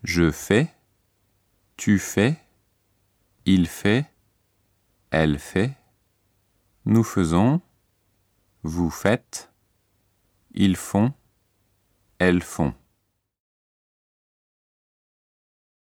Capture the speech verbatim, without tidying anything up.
Je fais, tu fais, il fait, elle fait, nous faisons, vous faites, ils font, elles font.